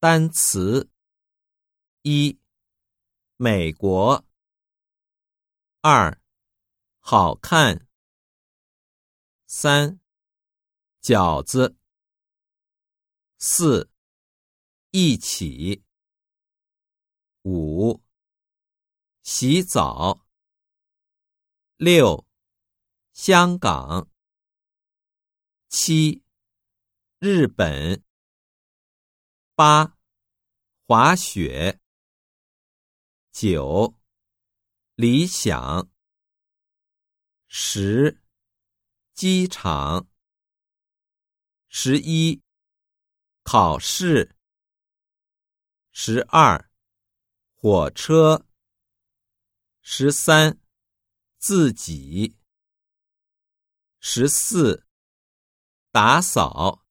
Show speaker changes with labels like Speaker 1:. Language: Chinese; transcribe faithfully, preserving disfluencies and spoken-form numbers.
Speaker 1: 单词：一、美国；二、好看；三、饺子；四、一起；五、洗澡；六、香港；七、日本；八、滑雪；九、理想；十、机场；十一、考试；十二、火车；十三、自己；十四、打扫；